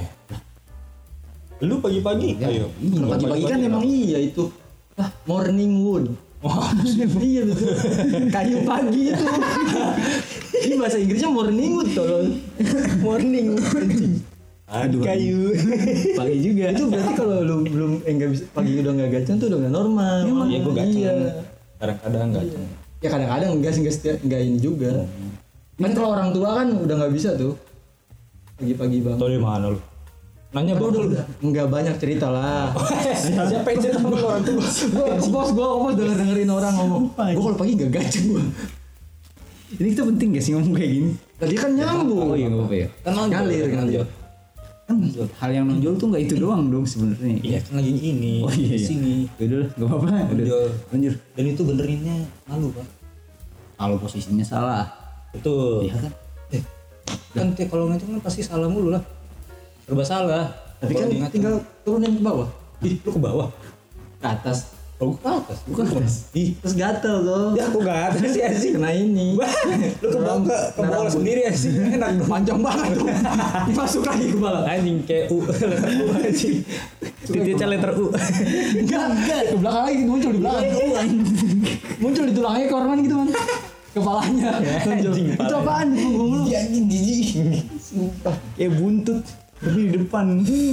Lu pagi-pagi ayo. Kalau pagi-pagi kan emang iya itu. Ah, morning wood. Wah, iya betul. Kayu pagi itu. Ini bahasa Inggrisnya morning wood tolong. Morning wood. Aduh kayu. Pagi juga. Itu berarti kalau lu belum enggak bisa pagi udah enggak gacang tuh udah enggak normal. Iya gua gaceng. Iya. Kadang-kadang gaceng. Ya kadang-kadang enggak sih enggak setiap enggak ini juga. Kan kalau orang tua kan udah enggak bisa tuh. Pagi-pagi banget. Tahu di mana lu? Nanya Aduh, bang. udah enggak banyak cerita lah. Siapa yang cerita sama orang tua? Gua bos gua ngomong denger dengerin orang ngomong. Gua kalau pagi enggak gacang gua. Ini kita penting gak sih ngomong kayak gini? Tadi kan nyambung. Oh iya nggak apa-apa ya. Kan Ngalir, ngalir. Kan hal yang nonjol tuh nggak itu doang dong sebenarnya. Iya kan lagi ini. Oh iya, di iya. sini. Udah lah, nggak apa-apa. Udah, Nonjol. lanjut. Dan itu benerinnya malu pak. Kalau posisinya salah, Betul. iya kan? Eh, kan tiap kalau ngancam kan pasti salah mulu lah. Serba salah. Tapi kan tinggal turunin ke bawah. Ih, lu ke bawah. Ke atas. Oh, ke atas. Bukan atas. Ih, Terus gatel tuh. ya aku gak ada sih anjing. Kena ini. Lu ke bawah ke, ke bawah sendiri anjing. Enak dong. Panjang banget tuh. Masuk lagi ke bawah. Anjing kayak U letter U anjing. Titiknya letter U. Enggak, enggak. Ke belakang lagi muncul di belakang. Muncul di tulangnya ke orang gitu man. Kepalanya. Muncul. Anjing, Itu kepalanya. apaan di punggung lu? Iya anjing jijik. Sumpah. Kayak buntut tapi di depan.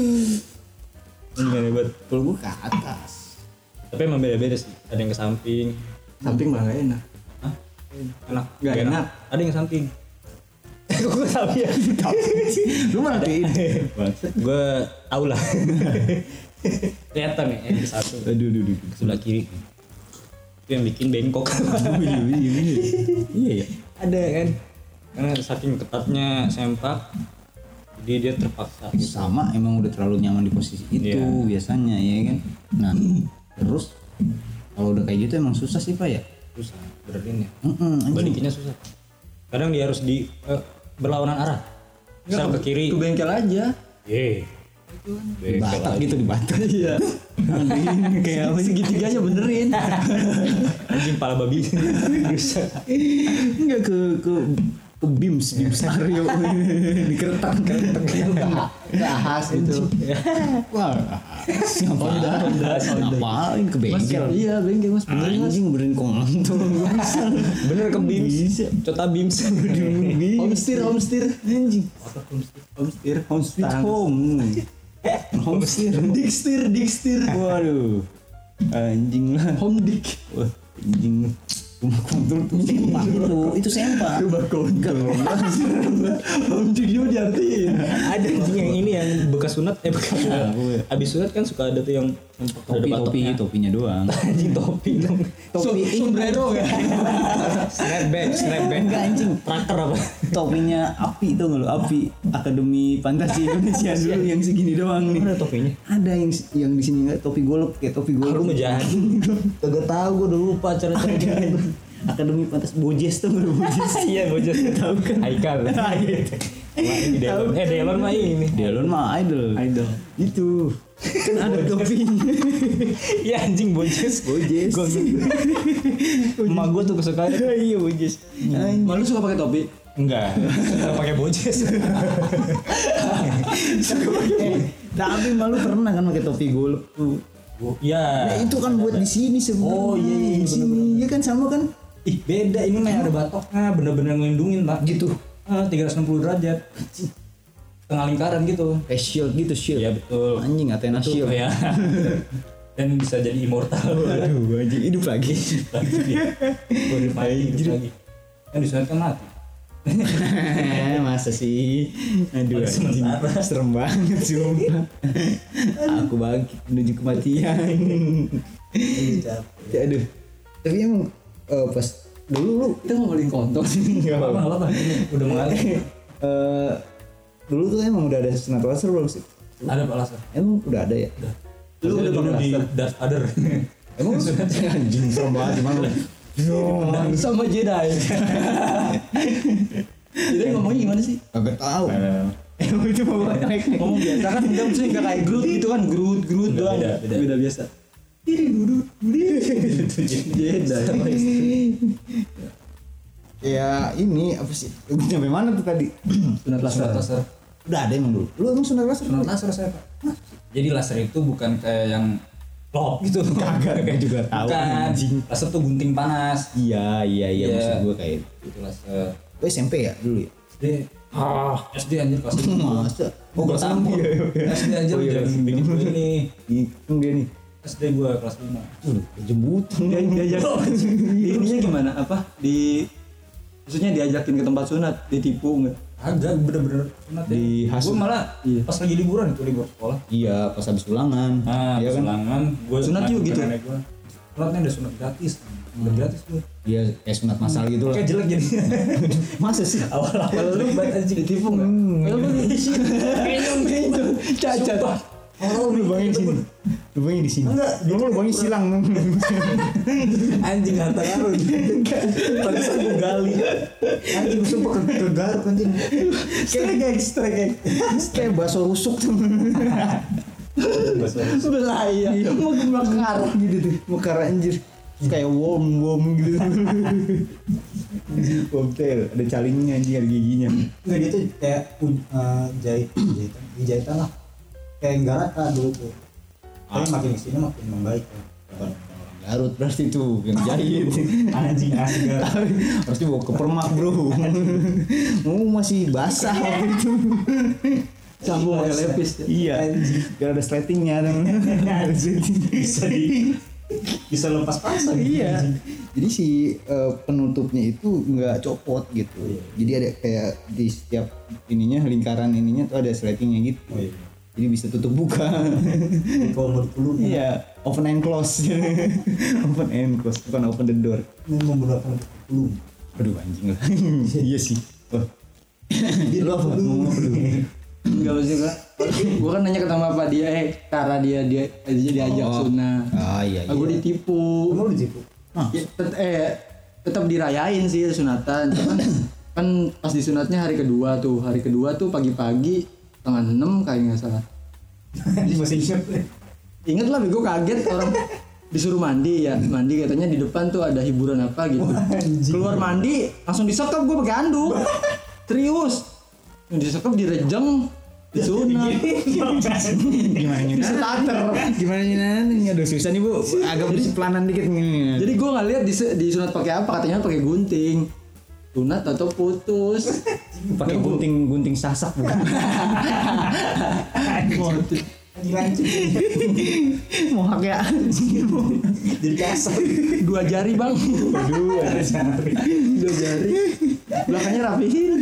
Enggak hebat. Kalau gua ke atas. Tapi emang beda-beda sih. Ada yang ke samping. Samping malah gak enak. Hah? Enak. Nggak enak. Ada yang ke samping. Kok gue tahu ya? Lu mana tuh? Gue tahu lah. Kelihatan nih yang ke satu. Aduh, aduh, aduh. Sebelah kiri. Itu yang bikin bengkok. Oh, iya, iya, iya. Iya ya. Ada kan? Karena saking ketatnya sempak. Jadi dia terpaksa gitu. Sama emang udah terlalu nyaman di posisi itu Iya. biasanya ya kan. Nah, terus kalau udah kayak gitu emang susah sih Pak ya. Susah benerin ya. Heeh, anjing. Balikinnya susah. Kadang dia harus di eh, berlawanan arah. Misal ke kiri. Ke bengkel aja. Ye. Di Batak gitu di Batak. Iya. Kayak apa sih? Segitiganya benerin. Anjing pala babi. Bisa. Enggak ke ke ke Bims, Bims Aryo di keretak keretak Bahas itu. wah ngapain ngapain ke Mas, bengkel iya bengkel mas benerin mas. anjing benerin kontol Bener ke Bims. bisa Cota Bims. Homesteer, homesteer. anjing Homesteer. home sweet home home steer Dikstir, dikstir. waduh anjing lah Home dik. wah anjing rumah kontol tuh sempak itu itu sempak Rumah kontol. Home dik juga diartiin. Ada anjing yang ini yang bekas sunat eh bekas sunat. Abis sunat kan suka ada tuh yang topi topi topinya doang anjing topi dong. topi Sombrero kan. Snapback, snapback. enggak anjing Tracker apa? topinya api tuh nggak lo api Akademi Fantasi Indonesia dulu yang segini doang nih Ada topinya. ada yang yang di sini nggak topi golok kayak topi golok Aku ngejahat. Kagak tahu gue udah lupa cara-cara gitu. Akademi Fantasi Bojes tuh nggak Bojes Iya bocor. tahu kan Haikal. Wah, ini Delon. Eh Delon mah ini. Delon mah idol Idol. itu kan ada topinya Iya anjing bojes. Bojes Emak gue tuh kesukaan. iya Bojes anjing. Malu suka pakai topi? Enggak. Enggak pakai bojes. Eh, tapi malu pernah kan pakai topi golok tuh Iya. nah itu kan buat di sini sebenarnya Oh, iya, iya, di sini ya kan sama kan Ih beda ini mah ada batoknya bener-bener ngelindungin pak. gitu Ah, tiga ratus enam puluh derajat. Tengah lingkaran gitu. kayak shield gitu shield Iya betul. anjing Athena Itu shield ya. Dan bisa jadi immortal. aduh anjing hidup lagi Lagi dia. Body fighting hidup lagi. Kan disunat kan mati. masa sih aduh Mati anjing sementara. serem banget sumpah aku bangkit menuju kematian ya aduh tapi emang eh, pas dulu lu Kita ngomongin kontol sih. Enggak apa-apa, enggak apa-apa. Ini udah mengalir. eh, dulu tuh emang udah ada sunat laser belum sih Ada Pak Laser. emang udah ada ya Lu udah dulu pakai di laser? Darth Vader. emang anjing serem banget gimana lu Sama Jedi. Jedi ngomongnya gimana sih? kagak tahu emang itu mau naik Ngomong biasa kan enggak maksudnya enggak kayak Groot gitu kan, Groot, Groot Enggak, doang. beda, beda. Beda biasa. Jeda. Ya ini apa sih? Sampai mana tuh tadi? Sunat laser. laser. Udah ada emang dulu. Lu emang sunat laser? Sunat laser saya Pak. Jadi laser itu bukan kayak yang lop gitu. Kagak, kayak juga tahu. Bukan. Anjing. Laser tuh gunting panas. Iya iya iya Iya. maksud gua kayak Itu laser. Lu S M P ya dulu ya? S D. Ah, S D anjir kelas lima. Masa? Oh, kelas enam. S D aja Oh, iya. udah bikin gue ini. Hitung dia nih. S D gua kelas lima. Tuh, jembutan Dia diajak. Ininya gimana? Apa? Di maksudnya diajakin ke tempat sunat, ditipu enggak? Agak bener-bener sunat ya. Di hasut. Gue malah Iya. pas lagi liburan itu libur sekolah. Iya, pas habis ulangan. Nah, Iya kan? selangan gue Sunat juga gitu? Gue. Sunatnya ada sunat gratis. Udah gratis gue. Dia kayak sunat masal gitu lah. Kayak jelek jadi. Masa sih? Awal-awal lu banget anjing ditipu enggak? Hmm. Kayaknya Cacat. Oh, lubangnya di sini. Lubangnya di sini. Enggak, Lu lubangnya silang. anjing harta karun. Pantesan gue gali. Anjing sumpah ke, ke garuk anjing. Strek, strek. Kayak bakso rusuk tuh. Belaya. Mau mekar gitu tuh. Mekar anjir. Kayak worm worm gitu. Worm tail, ada calingnya anjing, ada giginya. Enggak gitu kayak uh, jahit jahitan jahitan lah kayak enggak rata dulu tuh tapi makin kesini makin membaik ya. Orang Garut berarti tuh yang jahit. Anjing asli Garut. Harus dibawa ke permak bro. Mau masih basah waktu itu. sambung pakai lepis. Iya. Biar ada sletingnya. Bisa di bisa lepas pasang. Iya. Jadi si uh, penutupnya itu nggak copot gitu. Jadi ada kayak di setiap ininya lingkaran ininya tuh ada sletingnya gitu. Oh, iya. Jadi bisa tutup buka. Kalau mau dulu Iya, open and close. Open and close, bukan open the door. ini menggunakan dulu Aduh anjing lah. Iya sih. Oh. Lu apa? Ngomong apa dulu? Enggak maksud gua. Gua kan nanya ke sama apa dia eh cara dia dia dia diajak Oh. sunat. Ah iya iya. Aku ditipu. kamu lu ditipu Ah. Ya, tet- eh tetap dirayain sih sunatan. Cuman kan pas disunatnya hari kedua tuh. Hari kedua tuh pagi-pagi setengah enam kayaknya nggak salah. anjing masih ingat Ingat lah, gue kaget orang disuruh mandi ya, mandi katanya di depan tuh ada hiburan apa gitu. Keluar mandi langsung disekap gue pakai anduk. Serius. Yang disekap direjeng, disunat. Gimana nih? Di starter. Gimana nih? Aduh susah nih bu. Agak pelanan dikit nih. Jadi gue nggak lihat dis- disunat pakai apa, katanya pakai gunting. Sunat atau putus. Pakai gunting gunting sasak bukan? anjing anjing Mohak ya. jadi kasar Dua jari bang. Aduh. Dua jari. Belakangnya rapihin.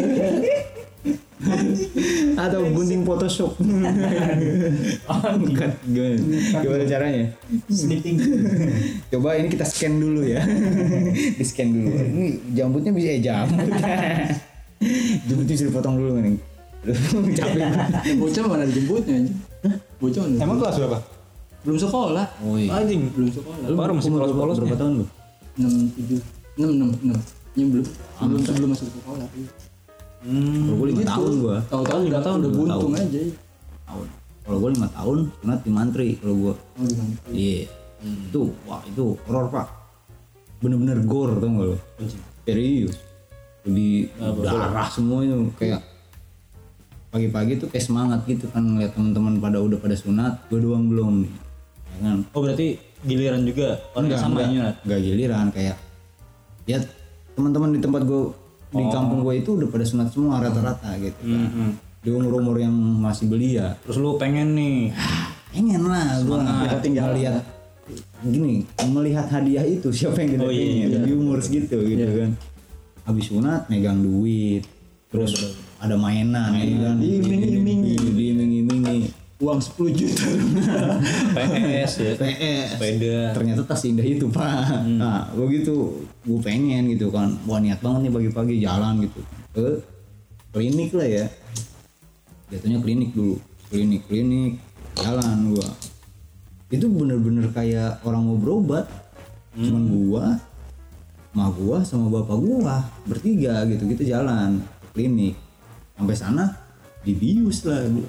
Atau gunting Photoshop. Bukan. Gimana? Gimana caranya? sleeping Coba ini kita scan dulu ya. Di scan dulu. Ini jambutnya bisa eh jambut. Jambutnya sudah potong dulu nih. Capek. Bocah mana dijemputnya anjing? Bocah mana? emang kelas berapa Belum sekolah. Oh iya. Anjing. Belum sekolah. Lu baru masih polos-polos berapa tahun lu? enam tujuh enam enam enam ini belum belum sebelum masuk sekolah. Hmm. Kalau gue lima tahun gua. Tahu-tahu lima tahun udah lima buntung tahun. aja. Tahun. Kalau gue lima tahun, sunat di mantri kalau gue. Oh gimana? Iya. Itu, wah itu horor pak. Bener-bener gore tau gak lo? Serius. Di darah semua itu kayak pagi-pagi tuh kayak semangat gitu kan ngeliat teman-teman pada udah pada sunat, gue doang belum nih. Ya kan? Oh berarti giliran juga orang Enggak, sama enggak, ya. enggak giliran kayak ya teman-teman di tempat gue di kampung gue itu udah pada sunat semua rata-rata gitu kan. Hmm. Di umur-umur yang masih belia. Terus lu pengen nih. Pengen lah gue tinggal lihat gini melihat hadiah itu siapa yang kita Oh, iya, pengen iya. di umur segitu gitu kan. Habis sunat megang duit terus ada mainan, ya kan Diiming-imingi. diiming-imingi Uang sepuluh juta. P S ya. P S Sepeda. ternyata tas indah itu pak. Nah begitu gue pengen gitu kan, wah niat banget nih pagi-pagi jalan gitu ke klinik lah ya, jatuhnya klinik dulu, klinik klinik jalan gua itu bener-bener kayak orang mau berobat. Cuman gua mah gua sama bapak gua bertiga gitu gitu jalan ke klinik, sampai sana dibius lah gua.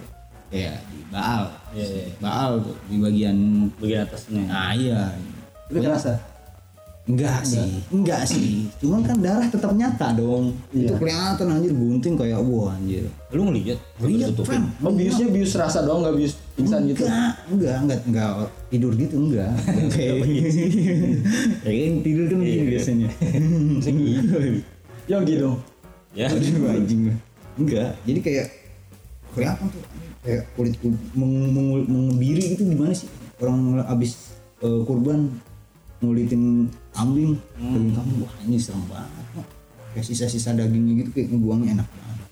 kayak di Baal. Iya, iya. Baal tuh di bagian bagian atasnya. nah iya. Tapi kerasa. Enggak sih, enggak sih. Cuman kan darah tetap nyata dong. Iya. Itu kelihatan anjir gunting kayak wah anjir. Lu ngeliat? Lihat Fam. Oh biusnya bius rasa doang nggak bius pingsan gitu. Enggak, enggak, enggak, enggak tidur gitu enggak. Enggak kayak kayak tidur kan begini biasanya. Yogi dong. Ya. Aduh anjing. Enggak. Jadi kayak kelihatan tuh kayak kulit kulit meng- meng- mengebiri gitu gimana sih? Orang abis eh, kurban ngulitin kambing, daging kambing wah ini serem banget. Kok. Kayak sisa-sisa dagingnya gitu kayak ngebuangnya enak banget.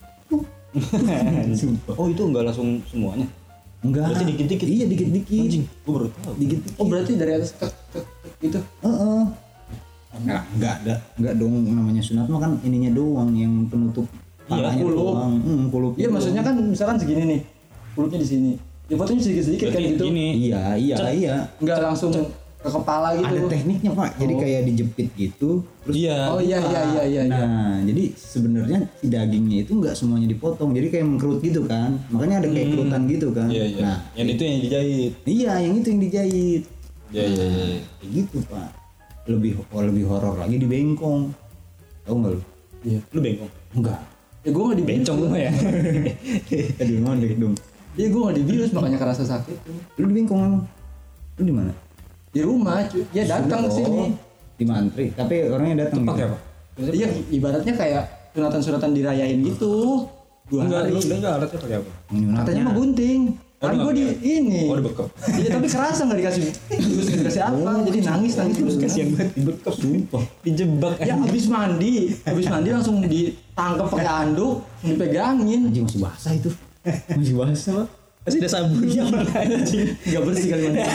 Sumpah. Oh itu enggak langsung semuanya? Enggak. Berarti dikit-dikit? Iya dikit-dikit. Anjing, gua baru tahu. Dikit-dikit. Oh berarti dari atas tek tek tek gitu. Heeh. Enggak, enggak ada. Enggak dong namanya sunat mah kan ininya doang yang penutup Iya, palanya kulup. doang. Hmm, kulup. Iya maksudnya kan misalkan segini nih, kulupnya di sini. Ya fotonya sedikit-sedikit kan Berarti gitu. gini. Iya, iya, iya. Nggak langsung ke kepala gitu. Ada tekniknya, Pak. Jadi Oh. kayak dijepit gitu. Terus Iya. Oh iya iya iya iya. iya. Nah, jadi sebenarnya si dagingnya itu enggak semuanya dipotong. Jadi kayak mengkerut gitu kan. Makanya ada kayak kerutan gitu kan. Iya iya. Nah, yang itu yang dijahit. iya, yang itu yang dijahit. Iya iya iya. Kayak gitu, Pak. Lebih oh, lebih horor lagi di bengkong. Tahu enggak lu? Iya. Lu bengkong. Enggak. Ya gue nggak dibius. Bencong lu ya. Aduh, ngondek dong. Iya gue nggak dibius makanya kerasa sakit. Lu di bengkong emang? Lu di mana? Di rumah, cuy. Dia datang ke sini. Oh, di mantri. Tapi orangnya datang. Pakai gitu. apa? Iya ibaratnya kayak sunatan-sunatan dirayain gitu. Dua Enggak, hari. lu enggak alatnya pakai apa? Nyunatnya. Katanya mah gunting. Oh, Kan lu gue di nggak ini. Oh, dibekep. Iya tapi kerasa nggak dikasih terus nggak dikasih apa. Jadi nangis nangis terus Kasihan banget dibekep sumpah. Dijebak. Ya abis mandi, abis mandi langsung ditangkap pakai anduk, dipegangin. Anjing masih basah itu. Masih basah, Pak. Masih ada sabunnya anjing. Nggak bersih kali mandi.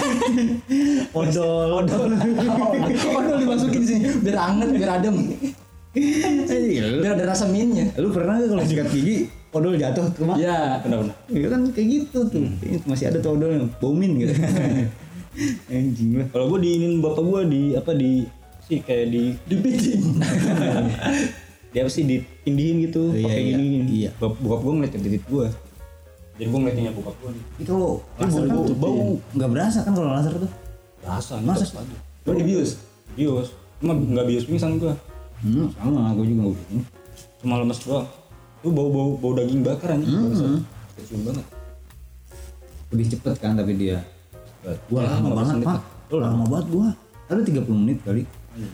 Odol. Odol. Odol dimasukin sini biar anget, biar adem, Lu, biar ada rasa minnya. lu pernah nggak kalau sikat gigi odol jatuh ke rumah? Ya, Benar-benar. Iya kan kayak gitu tuh. Masih ada tuh odol bau min gitu. Anjing lah. Kalau gua diinin bapak gua di apa di sih kayak di dipiting. dia apa sih ditindihin gitu Iya, pakai iya. gini. Iya. Bap- Bokap gua ngeliatin titik gua. Jadi gua ngeliatinnya bokap gua nih. Itu kalau laser kan bau, bau. nggak berasa kan kalau laser tuh. Rasa Masa masa sih? Lo dibius. bios. Cuma enggak bios pingsan gua. Hmm, sama aku juga udah. Cuma lemes doang. Lu bau-bau bau daging bakar anjing. Hmm. Kecium banget. Lebih cepet kan tapi dia. Gua Ya, lama lima belas banget, menit Pak. lah. Lu lama banget gua. Ada tiga puluh menit kali.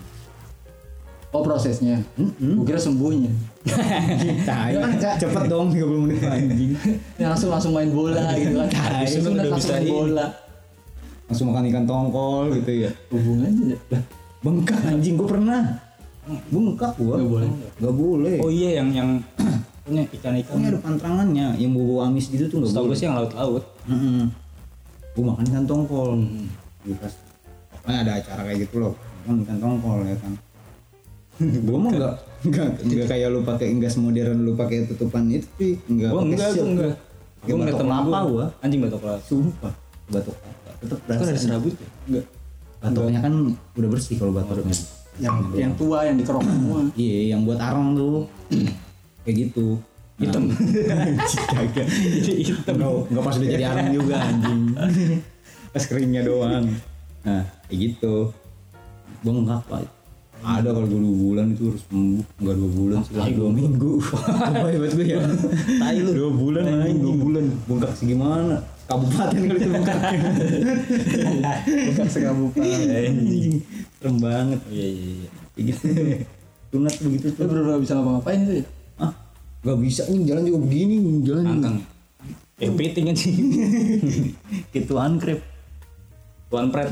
Oh prosesnya. Mm-mm. Gue kira sembuhnya. Tai. Ya kan, Kak. Cepet dong tiga puluh menit anjing. Ya, langsung langsung main bola gitu kan. Tai, Habis lu sunat udah langsung bisa main ini. bola. Langsung makan ikan tongkol gitu ya. Hubungannya ya. Bengkak anjing gua pernah. Bengkak gua. Nggak boleh. Nggak boleh. Oh iya yang yang punya ikan-ikan. Pokoknya ada pantrangannya yang bau amis gitu tuh nggak Setahu boleh. gue sih yang laut-laut. Heeh. Gua makan ikan tongkol. Gua pas pokoknya ada acara kayak gitu loh. Makan ikan tongkol ya kan. Gua mah enggak enggak enggak kayak lu pakai gas modern lu pakai tutupan itu sih. Enggak Gua pakai enggak, shield. gua enggak. Pakai Gua ngeliat batok temen kelapa gua. gua. Anjing batok kelapa. Sumpah. Batok kelapa. Tetep Kan ada berasa. serabut ya? Enggak. Batoknya kan udah bersih kalau batoknya. Yang yang tua yang dikerok semua. Iya, yang buat arang tuh. Kayak gitu. Hitam. Kagak. Jadi hitam. Enggak pas udah jadi arang juga anjing. Pas keringnya doang. Nah, kayak gitu. Bengkak, Pak. Ada kalau dua bulan itu harus sembuh. Enggak dua bulan sih, lah, dua minggu. Apa hebat gue ya? Tai lu. Dua bulan anjing, dua bulan. Bengkak segimana? Kabupaten kali itu bengkaknya. Bukan sekabupaten. Anjing. Serem banget. Iya iya iya. Kayak gitu. Sunat begitu Lu tuh. bener-bener bisa ngapa-ngapain tuh ya? Ah, gak bisa nih jalan juga begini, jalan juga. Angkang. Eh piting anjing. Kituan krep. Tuan Pret.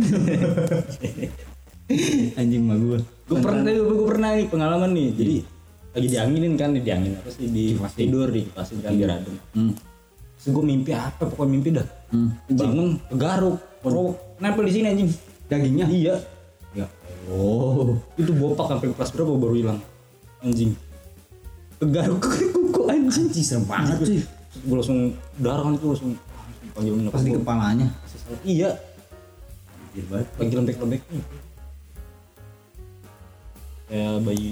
Anjing mah gua. Gue pernah gue gue pernah nih pengalaman nih. Jadi lagi dianginin kan, dianginin apa sih di tidur di kipasin kan biar adem. Hmm. Terus gue mimpi apa? Pokoknya mimpi dah. Hmm. Bangun kegaruk. Bro, nempel di sini anjing. Dagingnya? Iya. Ya. Oh. Itu bopak sampai kelas berapa baru hilang. Anjing. Kegaruk kuku anjing. Anjing serem banget sih. Gue langsung darah kan itu langsung panggil nyokap Pas di gua. kepalanya. Iya. Anjir banget. Lagi lembek-lembek nih. Kayak bayi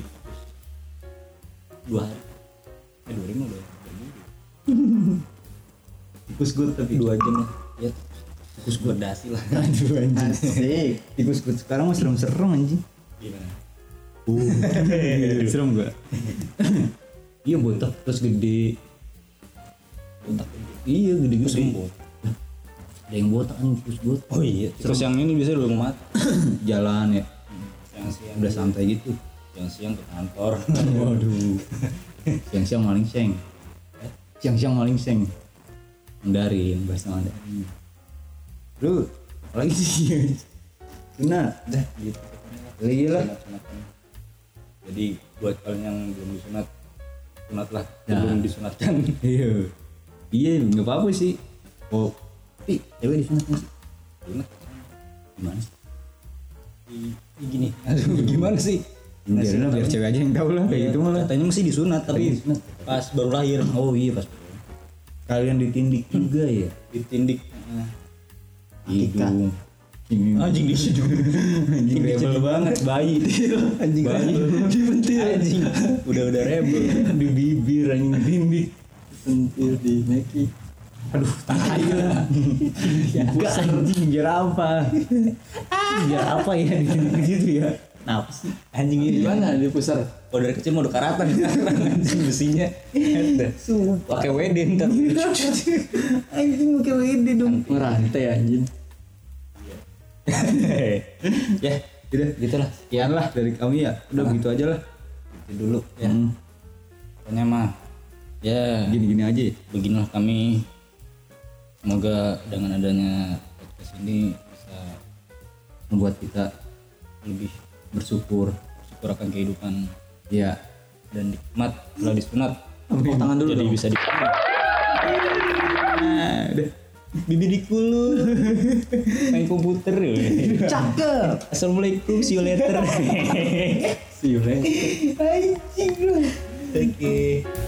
dua hari. Eh dua hari mah udah. tikus gue tapi dua jam lah ya tikus gue dasi lah. aduh anjing Asik. tikus gue sekarang mah serem-serem anjing. Gimana? Uh, serem gak? Iya botak terus gede. Botak gede. Iya gede gue Terus sembuh. Ada yang botak kan tikus gue. Oh iya. Terus yang ini biasanya udah mau mati. Jalan ya. Siang-siang Udah santai gitu. siang-siang ke kantor. Waduh. Siang-siang maling seng. Siang-siang maling seng. Mandarin bahasa Mandarin. Lu apalagi sih? Sunat. Dah gitu. Iya lah. Sunat-sunatan. Jadi buat kalian yang belum disunat, sunat lah. Nah. Belum disunatkan. Iya. Iya, enggak apa-apa sih. Oh, tapi cewek disunat nggak sih? Sunat. Gimana sih? I- i- gini. Aduh, gimana sih? Biarin lah, biar cewek aja yang tahu lah kayak gitu malah. Katanya mesti disunat tapi disunat. pas baru lahir. Oh iya pas. Kalian ditindik juga ya? Ditindik. Nah, Hidung. anjing di hidung. Anjing rebel banget, bayi. Anjing bayi. dibentir anjing. Udah-udah rebel. Di bibir anjing tindik. Sentir di Meki. Aduh, tai lah. Enggak anjing biar apa? Biar apa ya ditindik gitu ya? Kenapa sih? Anjing ini Gimana di pusar? Oh dari kecil mau udah karatan sekarang anjing besinya. Ada. Pakai W D ntar. Anjing pakai W D dong. Ngerantai anjing. Ya, Udah, gitulah. sekian lah dari kami ya. Udah begitu aja lah. Itu dulu ya. Hmm. Pokoknya mah ya Gini-gini aja ya. beginilah kami. Semoga dengan adanya podcast ini bisa Membuat kita lebih bersyukur. bersyukur akan kehidupan Ya. dan nikmat setelah disunat. Tepuk tangan dulu Jadi dong. bisa di Nah, udah. bibir dikulu main komputer ya. Cakep. Assalamualaikum, see you later. See you later. Anjing lu. Oke.